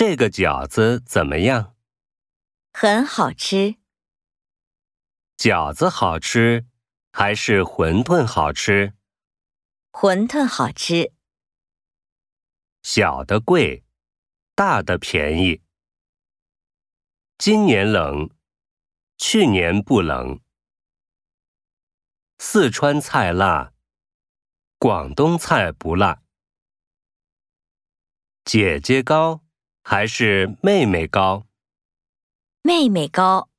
这个饺子怎么样？ 很好吃。 饺子好吃还是馄饨好吃？ 馄饨好吃。 小的贵，大的便宜。今年冷，去年不冷。四川菜辣，广东菜不辣。姐姐高还是妹妹高？ 妹妹高。